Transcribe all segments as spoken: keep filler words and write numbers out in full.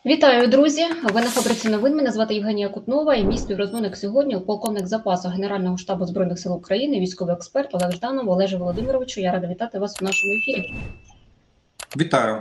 Вітаю, друзі! Ви на фабриці новин. Мене звати Євгенія Кутнова і мій співрозмовник сьогодні полковник запасу Генерального штабу Збройних сил України, військовий експерт Олег Жданов. Олеже Володимировичу, я рада вітати вас у нашому ефірі. Вітаю.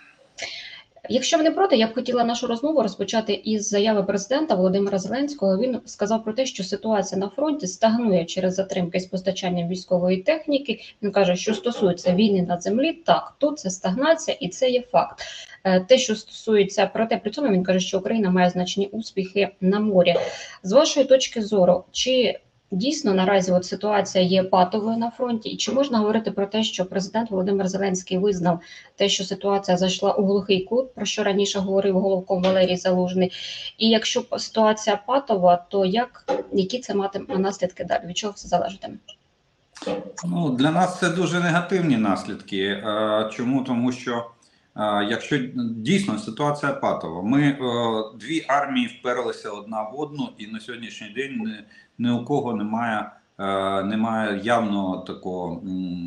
Якщо ви не проти, я б хотіла нашу розмову розпочати із заяви президента Володимира Зеленського. Він сказав про те, що ситуація на фронті стагнує через затримки з постачанням військової техніки. Він каже, що стосується війни на землі, так, тут це стагнація і це є факт. Те, що стосується, проте при цьому він каже, що Україна має значні успіхи на морі. З вашої точки зору, чи дійсно наразі от ситуація є патовою на фронті, і чи можна говорити про те, що президент Володимир Зеленський визнав те, що ситуація зайшла у глухий кут, про що раніше говорив головком Валерій Залужний? І якщо ситуація патова, то як, які це матиме наслідки далі? Від чого все залежатиме? Ну, для нас це дуже негативні наслідки. Чому? Тому що якщо дійсно ситуація патова, ми дві армії вперлися одна в одну, і на сьогоднішній день ні у кого немає, немає явного такого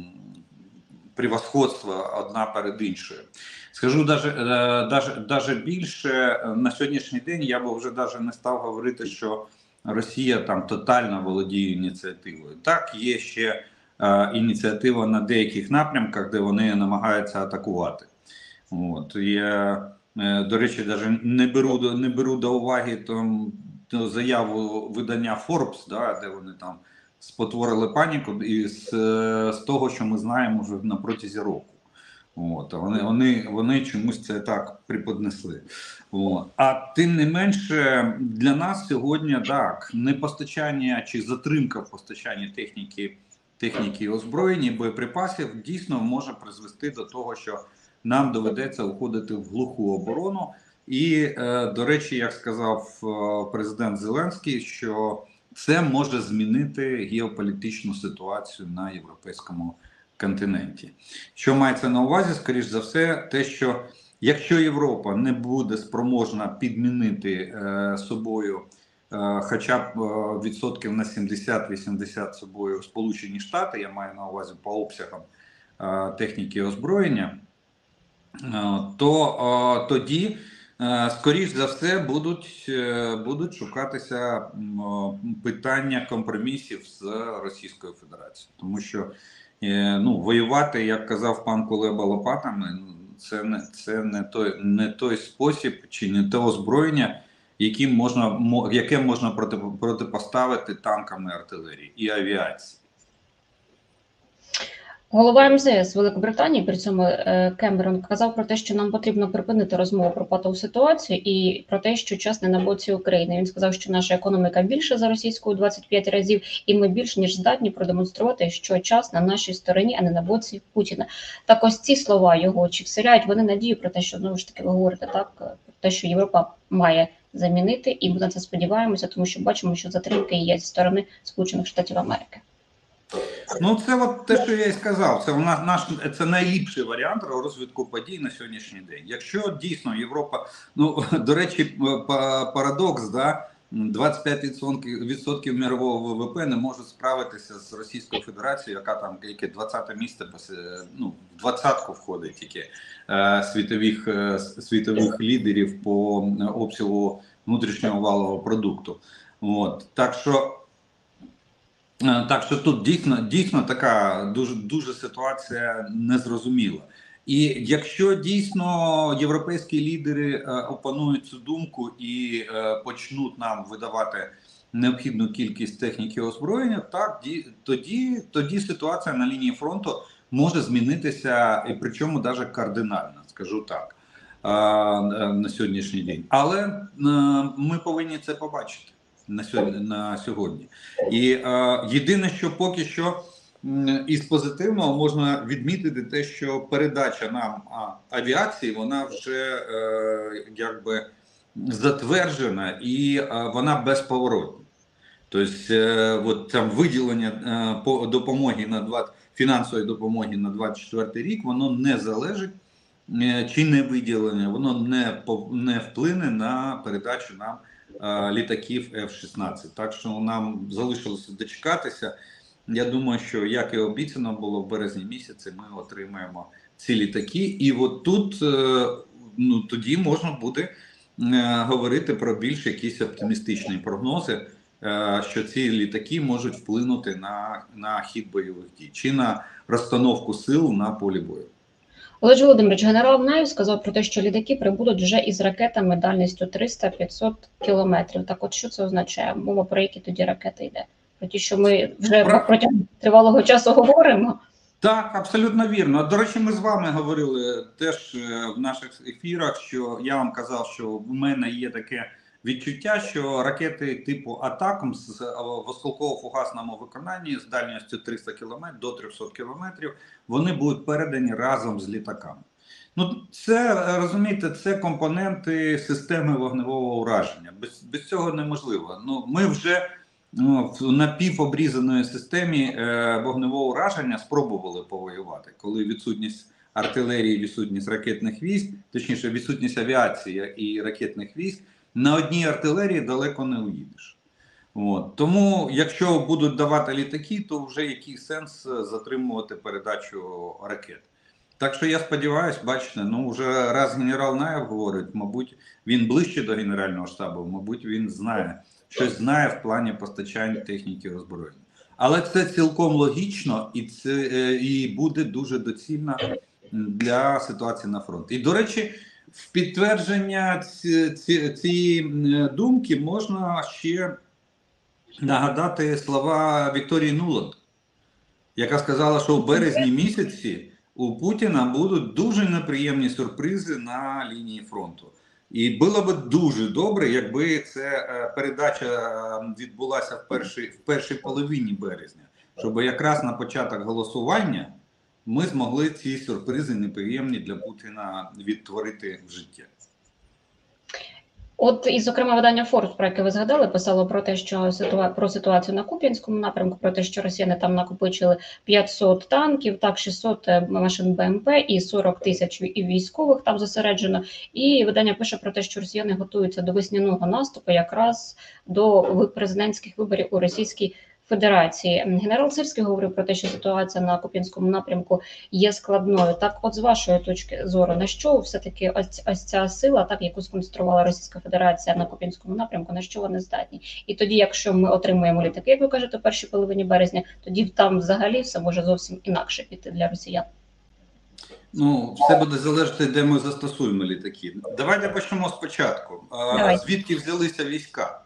превосходства одна перед іншою. Скажу даже, даже, даже більше, на сьогоднішній день я б вже даже не став говорити, що Росія там тотально володіє ініціативою. Так, є ще е, ініціатива на деяких напрямках, де вони намагаються атакувати. От. Я, е, до речі, навіть не беру, не беру до уваги там, заяву видання Forbes, да, де вони там спотворили паніку із з того, що ми знаємо вже на протязі року. От, вони, вони, вони чомусь це так приподнесли. От. А тим не менше, для нас сьогодні так, непостачання чи затримка в постачанні техніки, техніки озброєння, боєприпасів дійсно може призвести до того, що нам доведеться уходити в глуху оборону. І, е, до речі, як сказав е, президент Зеленський, що це може змінити геополітичну ситуацію на європейському континенті. Що мається на увазі, скоріш за все, те, що якщо Європа не буде спроможна підмінити е, собою е, хоча б е, відсотків на сімдесят-вісімдесят собою Сполучені Штати, я маю на увазі по обсягам е, техніки озброєння, е, то е, тоді скоріш за все будуть, будуть шукатися питання компромісів з Російською Федерацією. Тому що ну, воювати, як казав пан Кулеба, лопатами, це не, це не, той, не той спосіб чи не те озброєння, яким можна, яке можна проти, протипоставити танкам і артилерії і авіації. Голова ем зе ес Великобританії, при цьому Кемерон, казав про те, що нам потрібно припинити розмову про патову ситуацію і про те, що час не на боці України. Він сказав, що наша економіка більше за російську у двадцять п'ять разів, і ми більш ніж здатні продемонструвати, що час на нашій стороні, а не на боці Путіна. Так ось ці слова його, чи вселяють вони надію про те, що, знову ж таки, ви говорите так, про те, що Європа має замінити, і ми на це сподіваємося, тому що бачимо, що затримки є зі сторони Сполучених Штатів Америки. Ну, це от те, що я і сказав, це, вона, наш, це найліпший варіант розвитку подій на сьогоднішній день. Якщо дійсно Європа, ну, до речі, парадокс, да, двадцять п'ять відсотків мирового ВВП не може справитися з Російською Федерацією, яка там, яке двадцяте місце, ну, в двадцятку входить тільки е, світових, е, світових лідерів по обсягу внутрішнього валового продукту. От. Так що Так що тут дійсно, дійсно така дуже, дуже ситуація незрозуміла. І якщо дійсно європейські лідери е, опанують цю думку і е, почнуть нам видавати необхідну кількість техніки озброєння, так, ді, тоді, тоді ситуація на лінії фронту може змінитися, і причому навіть кардинально, скажу так, е, на сьогоднішній день. Але е, ми повинні це побачити. На сьогодні, на сьогодні. І е, єдине, що поки що м, із позитивного можна відмітити те, що передача нам а, авіації, вона вже е, якби затверджена і е, вона безповоротна. Тобто е, от там виділення е, по допомоги на двадцять, фінансової допомоги на двадцять четвертий рік, воно не залежить е, чи не виділення, воно не, не вплине на передачу нам літаків еф шістнадцять. Так що нам залишилося дочекатися. Я думаю, що, як і обіцяно було, в березні місяці ми отримаємо ці літаки. І от тут, ну, тоді можна буде говорити про більш якісь оптимістичні прогнози, що ці літаки можуть вплинути на, на хід бойових дій чи на розстановку сил на полі бою. Олег Володимирович, генерал Наєв сказав про те, що літаки прибудуть вже із ракетами дальністю триста-п'ятсот кілометрів. Так от що це означає? Мова про які тоді ракети йде? Про ті, що ми вже про... протягом тривалого часу говоримо? Так, абсолютно вірно. До речі, ми з вами говорили теж в наших ефірах, що я вам казав, що в мене є таке відчуття, що ракети типу «Атакам» з в осколково-фугасному виконанні з дальністю триста кілометрів до трьохсот кілометрів, вони будуть передані разом з літаками. Ну, це, розумієте, це компоненти системи вогневого ураження. Без, без цього неможливо. Ну, ми вже ну, в напівобрізаної системі е, вогневого ураження спробували повоювати, коли відсутність артилерії, відсутність ракетних військ, точніше відсутність авіації і ракетних військ, на одній артилерії далеко не уїдеш. От. Тому, якщо будуть давати літаки, то вже який сенс затримувати передачу ракет. Так що я сподіваюся, бачите, ну вже раз генерал Наєв говорить, мабуть, він ближче до Генерального штабу, мабуть, він знає, щось знає в плані постачання техніки і озброєння. Але це цілком логічно і, це, і буде дуже доцільно для ситуації на фронті. І, до речі, в підтвердження цієї думки можна ще нагадати слова Вікторії Нуланд, яка сказала, що в березні місяці у Путіна будуть дуже неприємні сюрпризи на лінії фронту. І було б дуже добре, якби ця передача відбулася в першій, в першій половині березня, щоб якраз на початок голосування ми змогли ці сюрпризи неприємні для Путіна відтворити в життя. От, і, зокрема, видання Forbes, про яке ви згадали, писало про те, що ситуа... про ситуацію на Куп'янському напрямку, про те, що росіяни там накопичили п'ятсот танків, так, шістсот машин Б М П і сорок тисяч і військових там зосереджено. І видання пише про те, що росіяни готуються до весняного наступу якраз до президентських виборів у Російській Федерації. Генерал Сирський говорив про те, що ситуація на Куп'янському напрямку є складною. Так, от з вашої точки зору, на що все-таки ось, ось ця сила, так, яку сконструювала Російська Федерація на Куп'янському напрямку, на що вони здатні? І тоді, якщо ми отримуємо літаки, як ви кажете, в першій половині березня, тоді там взагалі все може зовсім інакше піти для росіян. Ну, все буде залежати, де ми застосуємо літаки. Давайте почнемо спочатку. Давай. Звідки взялися війська?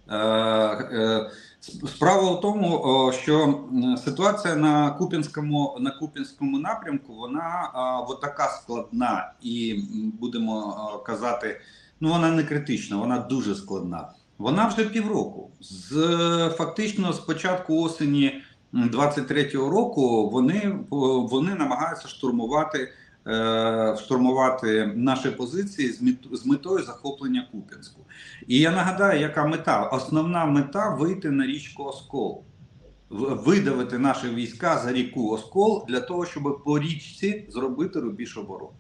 Справа в тому, що ситуація на Куп'янському на Куп'янському напрямку, вона от така складна і, будемо казати, ну вона не критична, вона дуже складна. Вона вже півроку. З, фактично з початку осені двадцять третього року вони, вони намагаються штурмувати штурмувати наші позиції з, мет, з метою захоплення Куп'янську. І я нагадаю, яка мета? Основна мета – вийти на річку Оскол. Видавити наші війська за ріку Оскол для того, щоб по річці зробити рубіж оборони.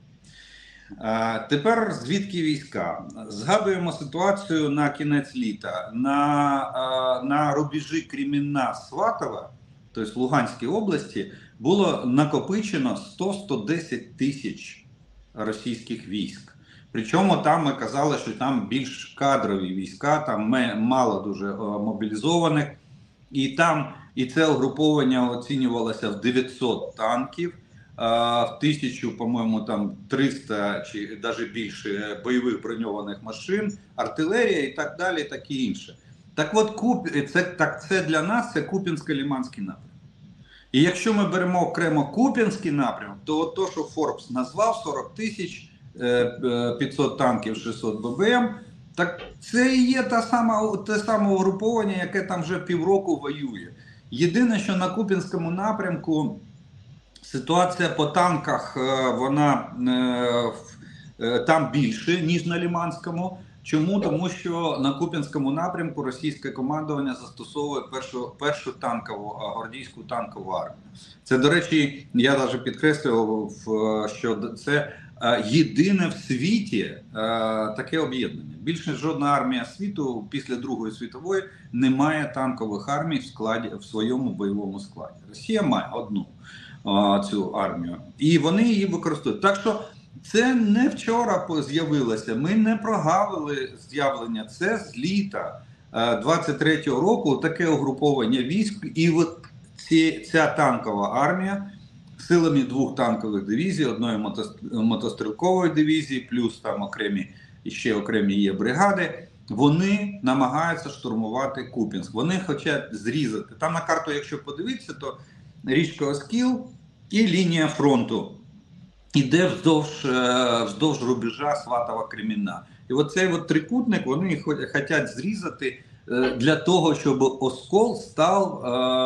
А, тепер звідки війська? Згадуємо ситуацію на кінець літа. На, а, на рубежі Кремінна-Сватова, тобто в Луганській області, було накопичено сто - сто десять тисяч російських військ. Причому там ми казали, що там більш кадрові війська, там мало дуже мобілізованих. І там і це угруповання оцінювалося в дев'ятсот танків, в тисячу, по-моєму, там триста чи навіть більше бойових броньованих машин, артилерія і так далі, так і інше. Так от, Куп... це, так, це для нас це Куп'янсько-Лиманський напрямок. І якщо ми беремо окремо Куп'янський напрямок, то от то, що Forbes назвав сорок тисяч, п'ятсот танків, шістсот Б Б М, так це і є та сама, те саме угруповання, яке там вже півроку воює. Єдине, що на Куп'янському напрямку ситуація по танках, вона там більше, ніж на Лиманському. Чому? Тому що на Куп'янському напрямку російське командування застосовує першу, першу танкову, гвардійську танкову армію. Це, до речі, я навіть підкреслював, що це єдине в світі таке об'єднання. Більше жодна армія світу після Другої світової не має танкових армій в складі, в своєму бойовому складі. Росія має одну цю армію. І вони її використовують. Так що Це не вчора з'явилося, ми не прогавили з'явлення, це з літа двадцять третього року таке угруповання військ, і от ці, ця танкова армія силами двох танкових дивізій, одної мотострілкової дивізії, плюс там окремі, ще окремі є бригади, вони намагаються штурмувати Куп'янськ. Вони хочуть зрізати. Там на карту, якщо подивитися, то річка Оскіл і лінія фронту іде вздовж, вздовж рубежа Сватова-Кремінна. І оцей от трикутник вони хочуть зрізати для того, щоб Оскол став,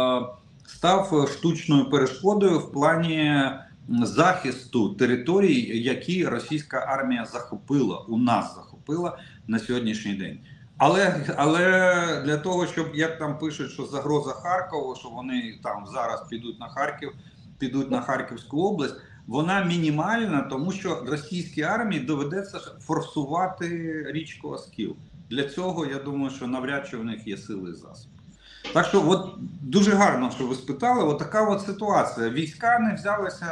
став штучною перешкодою в плані захисту територій, які російська армія захопила, у нас захопила на сьогоднішній день. Але, але для того, щоб, як там пишуть, що загроза Харкову, що вони там зараз підуть на Харків, підуть на Харківську область, вона мінімальна, тому що російській армії доведеться форсувати річку Оскіл. Для цього, я думаю, що навряд чи в них є сили і засоби. Так що, от дуже гарно, що ви спитали, от така от ситуація. Війська не взялися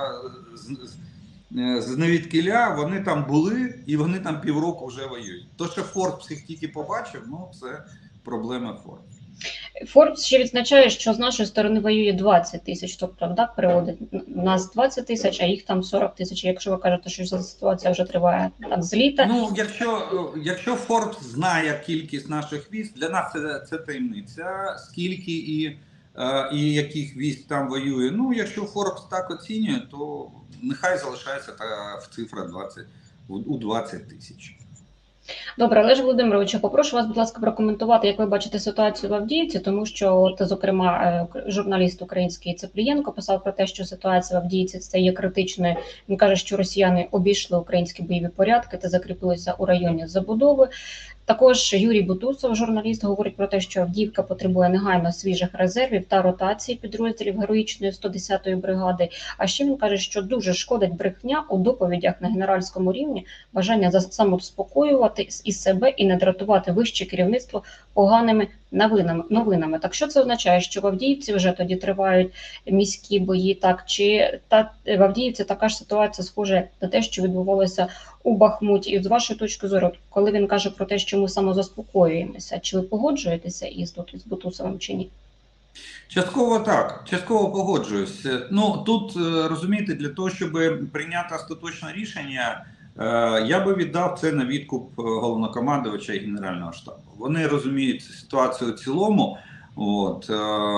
з, з, з невідкіля, вони там були і вони там півроку вже воюють. То, що Форбс їх тільки побачив, ну це проблема Форбс. Форбс ще відзначає, що з нашої сторони воює двадцять тисяч, тобто так переводить, у нас двадцять тисяч, а їх там сорок тисяч. Якщо ви кажете, що ситуація вже триває так з літа. Ну, якщо, якщо Форбс знає кількість наших військ, для нас це, це таємниця, скільки і, і яких військ там воює. Ну, якщо Форбс так оцінює, то нехай залишається та в цифра двадцять, у двадцять тисяч. Добре, Олеже Володимировичу, попрошу вас, будь ласка, прокоментувати, як ви бачите ситуацію в Авдіївці, тому що, от, зокрема, журналіст український Цеплієнко писав про те, що ситуація в Авдіївці стає критичною. Він каже, що росіяни обійшли українські бойові порядки та закріпилися у районі забудови. Також Юрій Бутусов, журналіст, говорить про те, що Авдіївка потребує негайно свіжих резервів та ротації підрозділів героїчної сто десятої бригади. А ще він каже, що дуже шкодить брехня у доповідях на генеральському рівні, бажання самоспокоювати і себе, і не дратувати вище керівництво поганими новинами. новинами. Так що це означає, що в Авдіївці вже тоді тривають міські бої, так? Чи та, в Авдіївці така ж ситуація схожа на те, що відбувалося у Бахмуті? І з вашої точки зору, коли він каже про те, що ми самозаспокоюємося, чи ви погоджуєтеся із тут із Бутусовим чи ні? Частково так, частково погоджуюсь. Ну, тут, розумієте, для того, щоб прийняти остаточне рішення, я би віддав це на відкуп головнокомандувача і Генерального штабу. Вони розуміють ситуацію в цілому, от,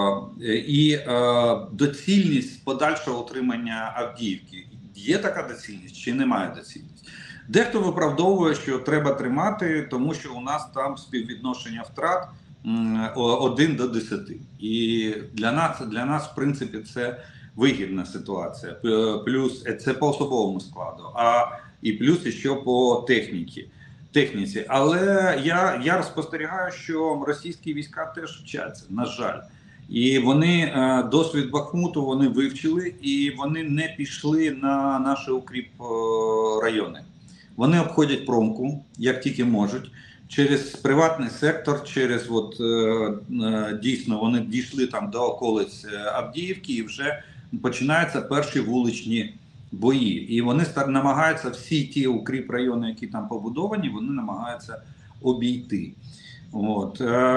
і доцільність подальшого утримання Авдіївки. Є така доцільність чи немає доцільності? Дехто виправдовує, що треба тримати, тому що у нас там співвідношення втрат один до десяти. І для нас, для нас, в принципі, це вигідна ситуація. Плюс це по особовому складу, а і плюс ще по техніці. техніці. Але я, я спостерігаю, що російські війська теж вчаться, на жаль. І вони досвід Бахмуту вони вивчили, і вони не пішли на наші укріп райони. Вони обходять промку, як тільки можуть, через приватний сектор, через от, дійсно вони дійшли там до околиць Авдіївки і вже починаються перші вуличні бої. І вони намагаються всі ті укріп райони, які там побудовані, вони намагаються обійти. От.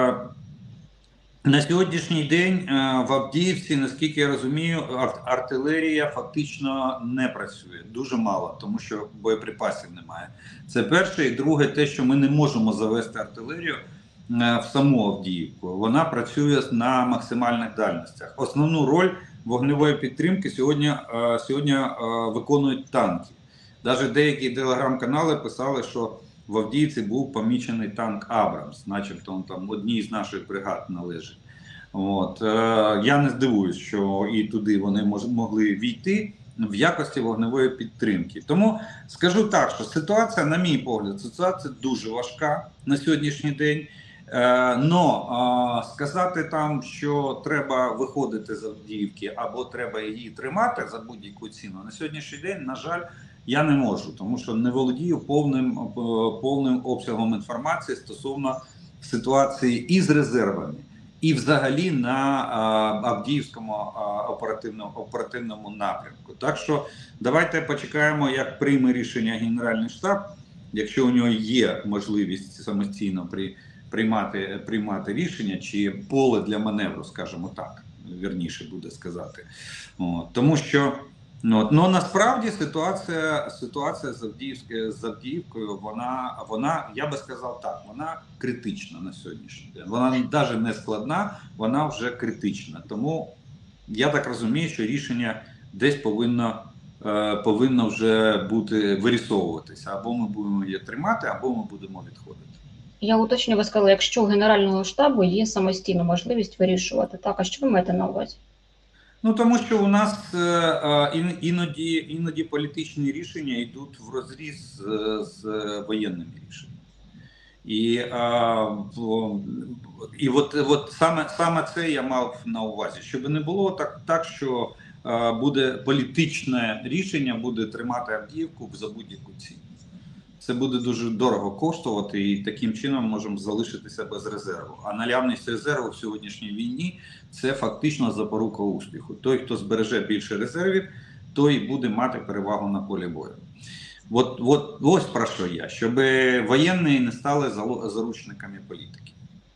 На сьогоднішній день в Авдіївці, наскільки я розумію, артилерія фактично не працює. Дуже мало, тому що боєприпасів немає. Це перше. І друге, те, що ми не можемо завести артилерію в саму Авдіївку. Вона працює на максимальних дальностях. Основну роль вогневої підтримки сьогодні, сьогодні виконують танки. Навіть деякі телеграм-канали писали, що в Авдіївці був помічений танк Абрамс, начебто він там одній з наших бригад належить. От. Я не здивуюсь, що і туди вони могли війти в якості вогневої підтримки. Тому скажу так, що ситуація, на мій погляд, ситуація дуже важка на сьогоднішній день. Но сказати там, що треба виходити з Авдіївки або треба її тримати за будь-яку ціну, на сьогоднішній день, на жаль, я не можу, тому що не володію повним, повним обсягом інформації стосовно ситуації і з резервами, і взагалі на а, Авдіївському а, оперативному, оперативному напрямку. Так що давайте почекаємо, як прийме рішення Генеральний штаб, якщо у нього є можливість самостійно при, приймати, приймати рішення, чи поле для маневру, скажімо так, вірніше буде сказати. От, тому що ну, ну, насправді ситуація, ситуація з, Авдіївською, з Авдіївкою, вона, вона, я би сказав так, вона критична на сьогоднішній день. Вона навіть не складна, вона вже критична. Тому я так розумію, що рішення десь повинно, е, повинно вже бути вирісовуватися. Або ми будемо її тримати, або ми будемо відходити. Я уточню, ви сказали, якщо у Генерального штабу є самостійна можливість вирішувати. Так, а що ви маєте на увазі? Ну, тому що у нас е, е, іноді, іноді політичні рішення йдуть в розріз з, з воєнними рішеннями. І, е, і от, от саме, саме це я мав на увазі, щоб не було так, так що е, буде політичне рішення, буде тримати Авдіївку за будь-яку ціну. Це буде дуже дорого коштувати, і таким чином можемо залишитися без резерву. А наявність резерву в сьогоднішній війні – це фактично запорука успіху. Той, хто збереже більше резервів, той буде мати перевагу на полі бою. От, от, ось про що я, щоб воєнні не стали заручниками політики.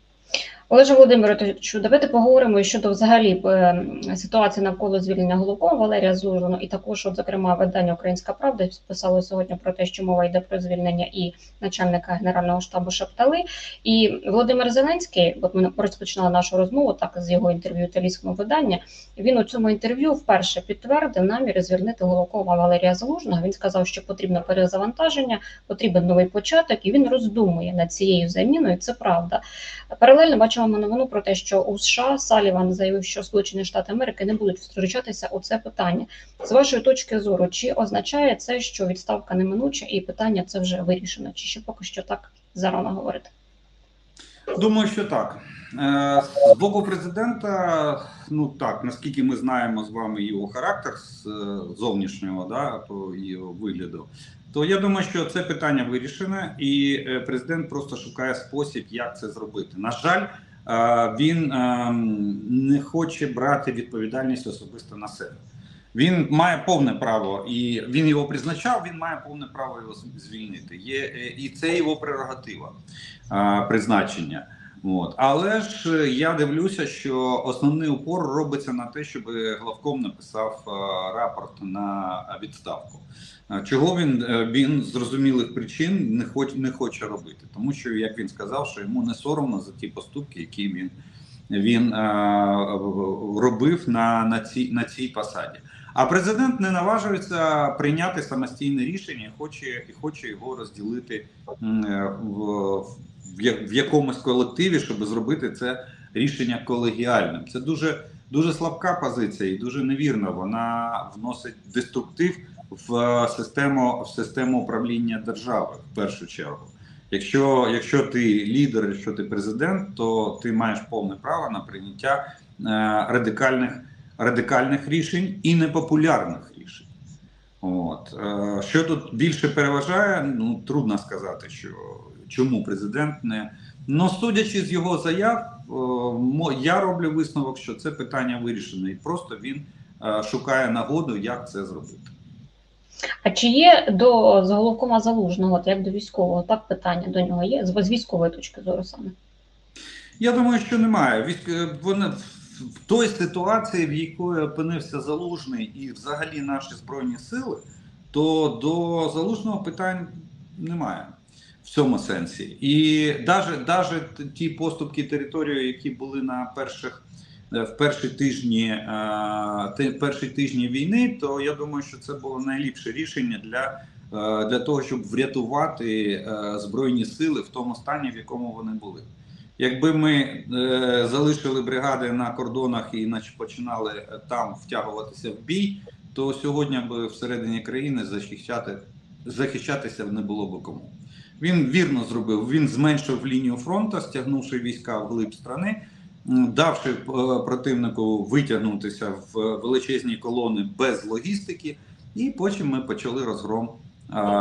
Олеже Володимировичу, давайте поговоримо щодо взагалі ситуації навколо звільнення Головкова Валерія Залужного, і також, от, зокрема, видання «Українська правда» писало сьогодні про те, що мова йде про звільнення і начальника Генерального штабу Шептали. І Володимир Зеленський, от ми розпочинали нашу розмову так з його інтерв'ю італійському виданню, він у цьому інтерв'ю вперше підтвердив намір звільнити Головкова Валерія Залужного. Він сказав, що потрібно перезавантаження, потрібен новий початок, і він роздумує над цією заміною. Це правда. Паралельно бачимо новину про те, що у США Саліван заявив, що Сполучені Штати Америки не будуть втручатися у це питання. З вашої точки зору, чи означає це, що відставка неминуча і питання це вже вирішено? Чи ще поки що так зарано говорити? Думаю, що так. З боку президента, ну так, наскільки ми знаємо з вами його характер з зовнішнього, да, по його вигляду, то я думаю, що це питання вирішене, і президент просто шукає спосіб, як це зробити. На жаль, він не хоче брати відповідальність особисто на себе. Він має повне право, і він його призначав, він має повне право його звільнити. Є, і це його прерогатива призначення. От. Але ж я дивлюся, що основний упор робиться на те, щоб главком написав рапорт на відставку. Чого він, він з зрозумілих причин не хоче, не хоче робити. Тому що, як він сказав, що йому не соромно за ті поступки, які він, він а, робив на, на, цій, на цій посаді. А президент не наважується прийняти самостійне рішення і хоче, і хоче його розділити в, в якомусь колективі, щоб зробити це рішення колегіальним. Це дуже, дуже слабка позиція і дуже невірна. Вона вносить деструктив в систему, в систему управління держави, в першу чергу. Якщо, якщо ти лідер, якщо ти президент, то ти маєш повне право на прийняття е, радикальних, радикальних рішень і непопулярних рішень. От. Е, що тут більше переважає, ну, трудно сказати, що, чому президент не... Ну, судячи з його заяв, е, я роблю висновок, що це питання вирішене, і просто він е, шукає нагоду, як це зробити. А чи є до головкома Залужного, от як до військового, так питання до нього є, з військової точки зору саме? Я думаю, що немає. Військ... Вони... В той ситуації, в якої опинився Залужний і взагалі наші Збройні Сили, то до Залужного питань немає в цьому сенсі. І навіть, навіть ті поступки території, які були на перших в перші тижні, перші тижні війни, то я думаю, що це було найліпше рішення для, для того, щоб врятувати Збройні Сили в тому стані, в якому вони були. Якби ми залишили бригади на кордонах і починали там втягуватися в бій, то сьогодні б всередині країни захищати, захищатися не було б кому. Він вірно зробив, він зменшив лінію фронту, стягнувши війська вглиб країни, давши противнику витягнутися в величезні колони без логістики, і потім ми почали розгром,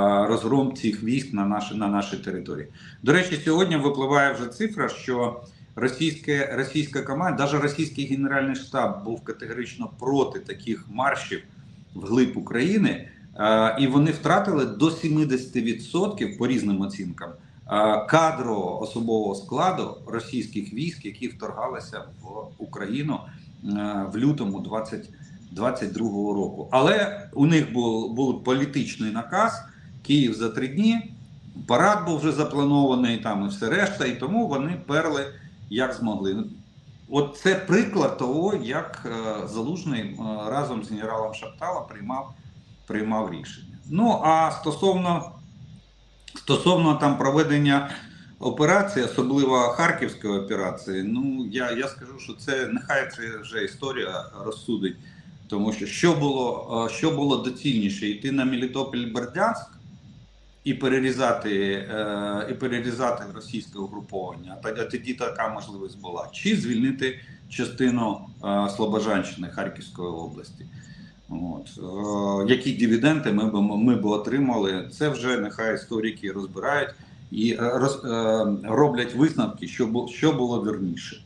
розгром цих військ на нашій, на нашій території. До речі, сьогодні випливає вже цифра, що російське, російська команда, навіть російський Генеральний штаб був категорично проти таких маршів вглиб України, і вони втратили до сімдесят відсотків по різним оцінкам кадрового особового складу російських військ, які вторгалися в Україну в лютому двадцять другого року. Але у них був, був політичний наказ, Київ за три дні, парад був вже запланований, там і все решта, і тому вони перли як змогли. От це приклад того, як Залужний разом з генералом Шаптала приймав, приймав рішення. Ну, а стосовно, стосовно там проведення операції, особливо Харківської операції, ну, я, я скажу, що це, нехай це вже історія розсудить, тому що що було, що було доцільніше, йти на Мелітополь-Бердянськ і перерізати, і перерізати російське угруповання, а тоді така можливість була, чи звільнити частину Слобожанщини Харківської області. От. Які дивіденди ми б, ми б отримали, це вже нехай історики розбирають і роз, роблять висновки, що було, що було вірніше.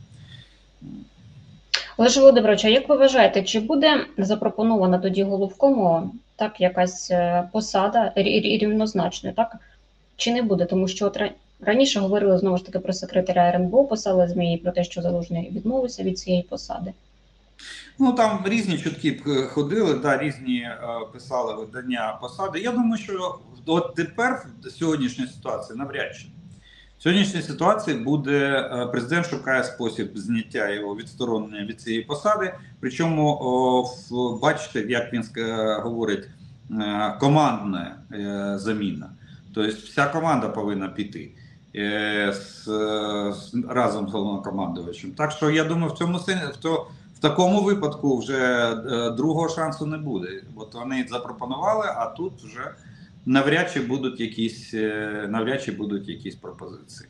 Олеже Володимировичу, як ви вважаєте, чи буде запропонована тоді головкому так якась посада рівнозначною, так? Чи не буде? Тому що от раніше говорили знову ж таки про секретаря РНБО, писали ЗМІ про те, що Залужний відмовився від цієї посади. Ну, там різні чутки ходили, да, різні е, писали видання посади. Я думаю, що от тепер в сьогоднішній ситуації навряд чи. В сьогоднішній ситуації буде, е, президент шукає спосіб зняття його відсторонення від цієї посади. Причому, о, в, бачите, як він е, говорить, е, командна е, заміна. Тобто вся команда повинна піти е, з, з, разом з головнокомандувачем. Так що я думаю, в цьому сенсі, в то, в такому випадку вже е, другого шансу не буде. От вони запропонували, а тут вже навряд чи будуть якісь, е, навряд чи будуть якісь пропозиції.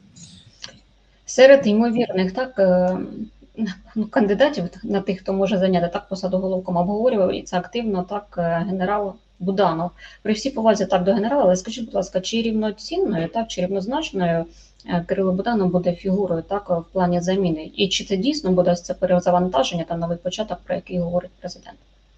Серед ймовірних так ну, кандидатів на тих, хто може зайняти так посаду головком, обговорював і це активно так генерал Буданов. При всій повазі так до генерала, але скажіть, будь ласка, чи рівноцінною, так, чи рівнозначною Кирило Буданов буде фігурою так в плані заміни? І чи це дійсно буде це перезавантаження та новий початок, про який говорить президент?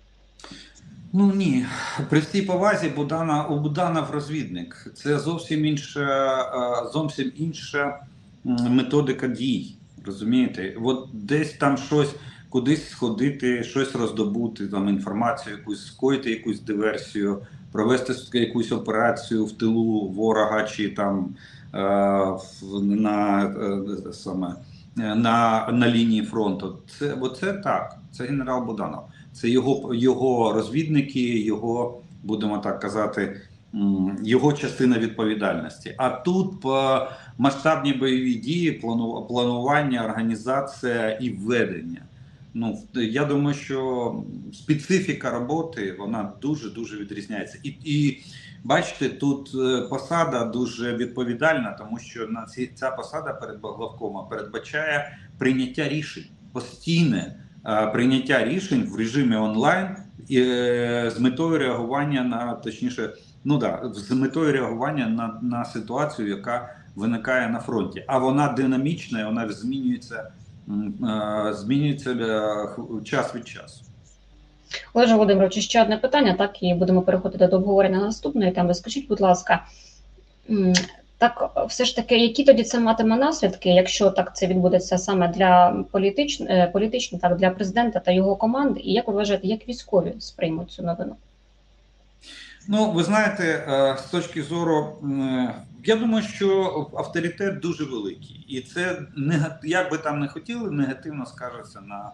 Ну ні, при всій повазі Будана, у Буданов розвідник. Це зовсім інша, зовсім інша методика дій. Розумієте? От десь там щось, кудись сходити, щось роздобути, там інформацію, якусь скоїти якусь диверсію, провести якусь операцію в тилу ворога чи там е, на, е, саме, на, на лінії фронту. Це, оце так, це генерал Буданов. Це його, його розвідники, його, будемо так казати, його частина відповідальності. А тут по масштабні бойові дії, планування, організація і введення. Ну, я думаю, що специфіка роботи, вона дуже-дуже відрізняється. І, і бачите, тут посада дуже відповідальна, тому що на ці, ця посада перед главкомом передбачає прийняття рішень, постійне прийняття рішень в режимі онлайн і, е, з метою реагування на, точніше, ну да, з метою реагування на, на ситуацію, яка виникає на фронті. А вона динамічна, і вона змінюється, е, змінюється е, час від часу. Олеже Володимировичу, ще одне питання, так, і будемо переходити до обговорення наступної теми. Скажіть, будь ласка, так, все ж таки, які тоді це матиме наслідки, якщо так це відбудеться саме для політичних, політично, так, для президента та його команди, і як ви вважаєте, як військові сприймуть цю новину? Ну, ви знаєте, з точки зору, я думаю, що авторитет дуже великий, і це, як би там не хотіли, негативно скажеться на,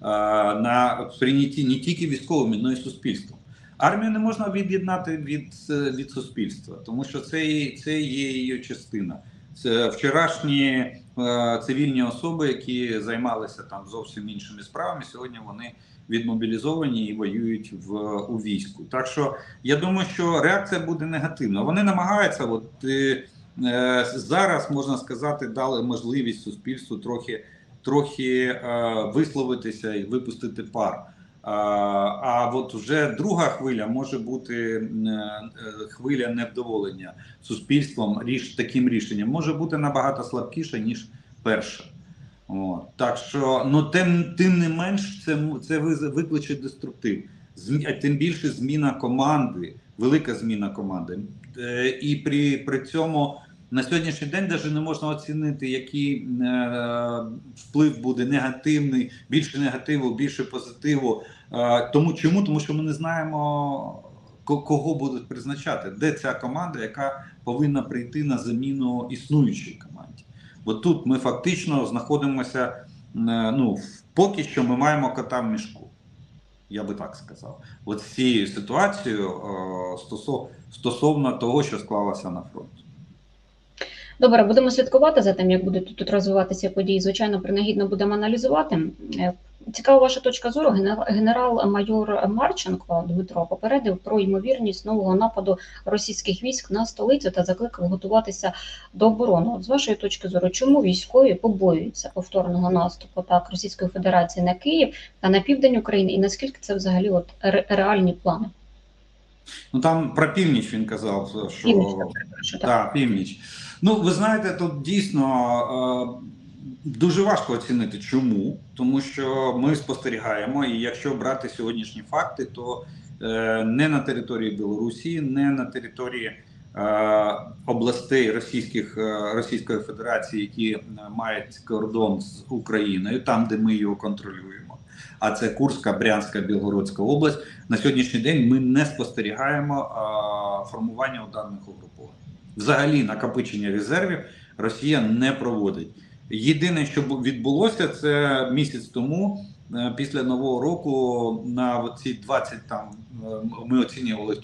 на прийнятті не тільки військовими, але й суспільством. Армію не можна від'єднати від, від суспільства, тому що це, це є її частина. Це вчорашні е, цивільні особи, які займалися там зовсім іншими справами, сьогодні вони відмобілізовані і воюють в, у війську. Так що я думаю, що реакція буде негативна. Вони намагаються, от, е, е, зараз, можна сказати, дали можливість суспільству трохи, трохи е, висловитися і випустити пар. А, а от вже друга хвиля може бути хвиля невдоволення суспільством ріш, таким рішенням, може бути набагато слабкіша, ніж перша. От. Так що, ну тим, тим не менш, це, це викличе деструктив. Змі, а тим більше зміна команди, велика зміна команди. Е, і при, при цьому на сьогоднішній день навіть не можна оцінити, який е, вплив буде негативний, більше негативу, більше позитиву. Е, тому чому? Тому що ми не знаємо, кого будуть призначати, де ця команда, яка повинна прийти на заміну існуючій команді. Бо тут ми фактично знаходимося, ну, поки що ми маємо кота в мішку, я би так сказав. От з цією ситуацією стосов, стосовно того, що склалося на фронті. Добре, будемо слідкувати за тим, як будуть тут розвиватися події. Звичайно, принагідно будемо аналізувати. Цікава ваша точка зору. Генерал-майор Марченко Дмитро попередив про ймовірність нового нападу російських військ на столицю та закликав готуватися до оборони. От з вашої точки зору, чому військові побоюються повторного наступу так Російської Федерації на Київ та на південь України, і наскільки це взагалі от ре реальні плани? Ну там про північ він казав, що північ, так, так, північ. Ну, ви знаєте, тут дійсно е дуже важко оцінити, чому, тому що ми спостерігаємо, і якщо брати сьогоднішні факти, то е, не на території Білорусі, не на території е, областей Російських, е, Російської Федерації, які мають кордон з Україною, там, де ми його контролюємо, а це Курська, Брянська, Білгородська область, на сьогоднішній день ми не спостерігаємо е, формування ударних угруповань. Взагалі накопичення резервів Росія не проводить. Єдине, що відбулося, це місяць тому, після Нового року, на ці двадцять, там, ми оцінювали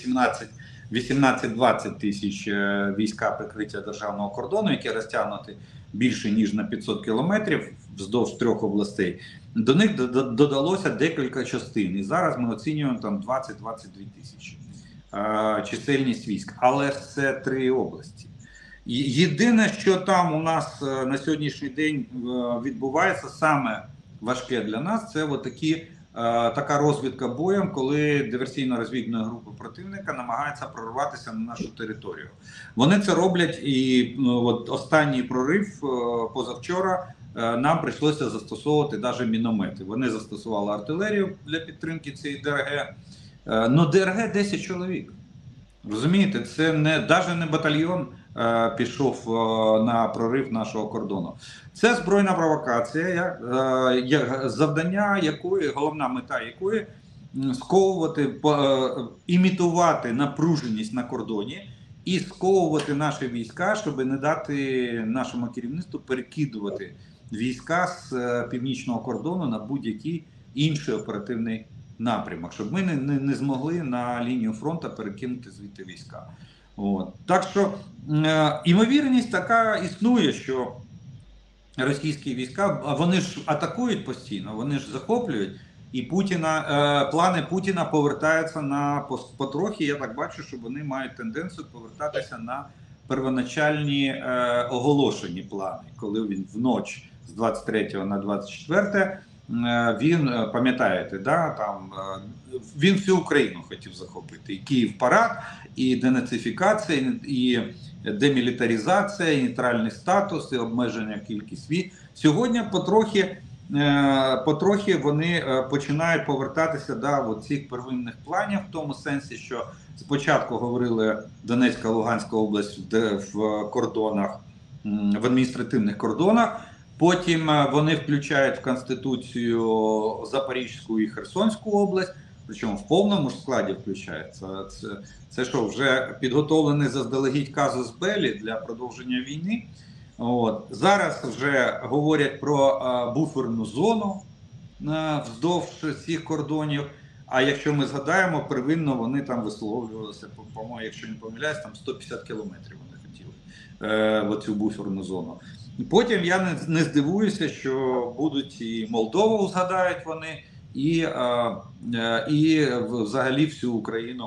вісімнадцять-двадцять тисяч війська прикриття державного кордону, які розтягнуті більше, ніж на п'ятсот кілометрів вздовж трьох областей. До них додалося декілька частин. І зараз ми оцінюємо там двадцять-двадцять дві тисячі чисельність військ. Але це три області. Єдине, що там у нас на сьогоднішній день відбувається, саме важке для нас, це такі, така розвідка боєм, коли диверсійно-розвідна група противника намагається прорватися на нашу територію. Вони це роблять, і ну, от останній прорив позавчора нам прийшлося застосовувати навіть міномети. Вони застосували артилерію для підтримки цієї ДРГ. Ну, ДРГ десять чоловік. Розумієте, це не, навіть не батальйон е, пішов е, на прорив нашого кордону. Це збройна провокація, як, е, як, завдання якої, головна мета якої сковувати, по, е, імітувати напруженість на кордоні і сковувати наші війська, щоб не дати нашому керівництву перекидувати війська з е, північного кордону на будь-який інший оперативний напрямок, щоб ми не, не, не змогли на лінію фронту перекинути звідти війська. От. Так що е, імовірність така існує, що російські війська, вони ж атакують постійно, вони ж захоплюють, і Путіна, е, плани Путіна повертаються на потрохи. Я так бачу, що вони мають тенденцію повертатися на первоначальні е, оголошені плани, коли він вночі з двадцять третього на двадцять четверте він, пам'ятаєте, да, там він всю Україну хотів захопити. І Київ парад, і денацифікація, і демілітаризація, і нейтральний статус, і обмеження кількість військ. Сьогодні потрохи, потрохи вони починають повертатися до цих первинних планів, в тому сенсі, що спочатку говорили Донецька, Луганська область в кордонах, в адміністративних кордонах. Потім вони включають в Конституцію Запорізьку і Херсонську область, причому в повному ж складі включається. Це, це що, вже підготовлений заздалегідь казус беллі для продовження війни. От. Зараз вже говорять про а, буферну зону а, вздовж цих кордонів. А якщо ми згадаємо, первинно вони там висловлювалися, по-моєму, якщо не помиляюсь, там сто п'ятдесят кілометрів вони хотіли е, в оцю буферну зону. Потім я не, не здивуюся, що будуть і Молдову згадають вони, і, е, і взагалі всю Україну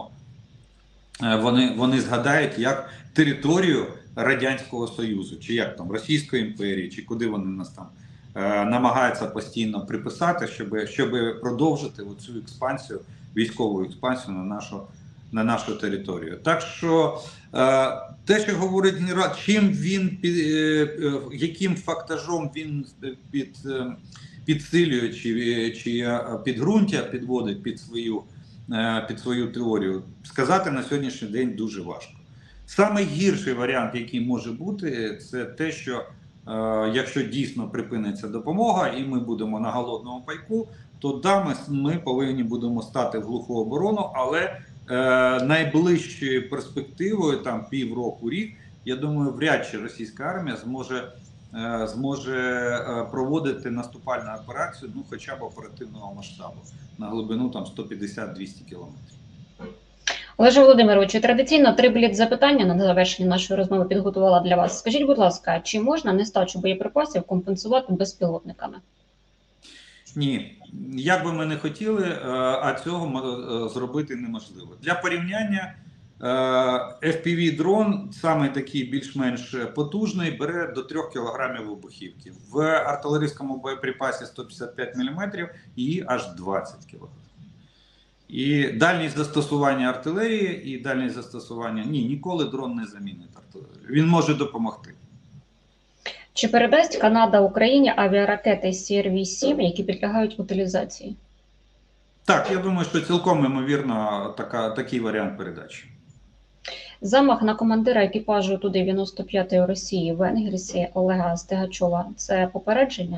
вони, вони згадають як територію Радянського Союзу, чи як там, Російської імперії, чи куди вони нас там е, намагаються постійно приписати, щоб, щоб продовжити оцю експансію, військову експансію на нашу на нашу територію. Так що те, що говорить генерал, чим він, яким фактажом він під, підсилює чи, чи підґрунтя підводить під свою, під свою теорію, сказати на сьогоднішній день дуже важко. Саме гірший варіант, який може бути, це те, що якщо дійсно припиниться допомога і ми будемо на голодному пайку, то да, ми, ми повинні будемо стати в глуху оборону, але е, найближчою перспективою, там півроку, рік, я думаю, вряд чи російська армія зможе, е, зможе е, проводити наступальну операцію, ну хоча б оперативного масштабу, на глибину там сто п'ятдесят - двісті кілометрів. Олеже Володимировичу, традиційно три бліц запитання на завершення нашої розмови підготувала для вас. Скажіть, будь ласка, чи можна нестачу боєприпасів компенсувати безпілотниками? Ні, як би ми не хотіли, а цього зробити неможливо. Для порівняння, еф пі ві-дрон, саме такий більш-менш потужний, бере до трьох кілограмів вибухівки. В артилерійському боєприпасі сто п'ятдесят п'ять міліметрів її аж двадцять кілограмів. І дальність застосування артилерії, і дальність застосування... Ні, ніколи дрон не замінить артилерію. Він може допомогти. Чи передасть Канада Україні авіаракети сі ар ві сім, які підлягають утилізації? Так, я думаю, що цілком ймовірно така, такий варіант передачі. Замах на командира екіпажу Ту дев'яносто п'ятої Росії в Енгельсі Олега Стегачова – це попередження?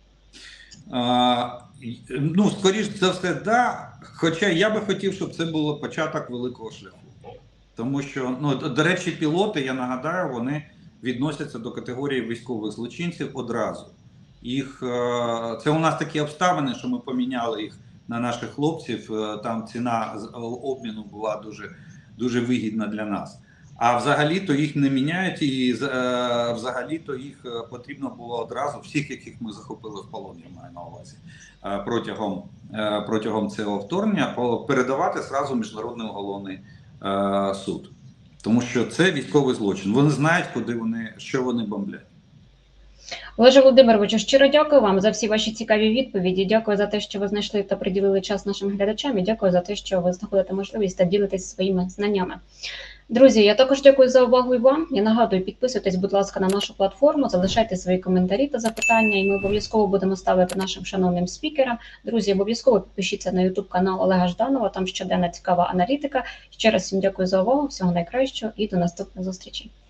А, ну, скоріш за все, да. Хоча я би хотів, щоб це було початок великого шляху. Тому що, ну, до речі, пілоти, я нагадаю, вони відносяться до категорії військових злочинців одразу. Їх, це у нас такі обставини, що ми поміняли їх на наших хлопців, там ціна обміну була дуже, дуже вигідна для нас. А взагалі-то їх не міняють, і взагалі-то їх потрібно було одразу, всіх, яких ми захопили в полон, я маю на увазі, протягом, протягом цього вторгнення, передавати зразу в Міжнародний уголовний суд. Тому що це військовий злочин. Вони знають, куди вони, що вони бомблять. Олеже Володимировичу, щиро дякую вам за всі ваші цікаві відповіді. Дякую за те, що ви знайшли та приділили час нашим глядачам. І дякую за те, що ви знаходите можливість та ділитесь своїми знаннями. Друзі, я також дякую за увагу і вам. Я нагадую, підписуйтесь, будь ласка, на нашу платформу, залишайте свої коментарі та запитання, і ми обов'язково будемо ставити нашим шановним спікерам. Друзі, обов'язково підпишіться на ютуб канал Олега Жданова, там щоденна цікава аналітика. Ще раз всім дякую за увагу, всього найкращого і до наступних зустрічей.